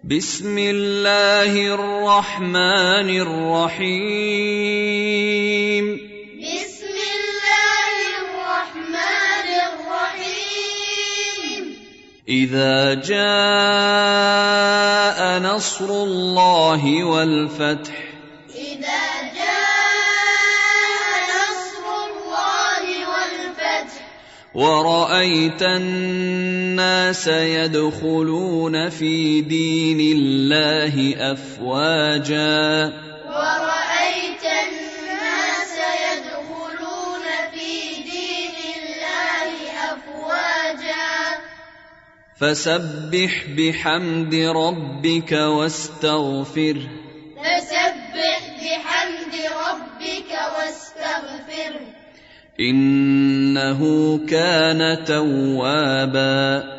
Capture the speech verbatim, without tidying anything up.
بسم الله الرحمن الرحيم بسم الله الرحمن الرحيم إذا جاء نصر الله والفتح إذا جاء نصر الله والفتح ورأيت الناس يدخلون في دين الله أفواجا ورأيت الناس يدخلون في دين الله أفواجا فسبح بحمد ربك واستغفره فسبح بحمد ربك واستغفره إنه كان توابا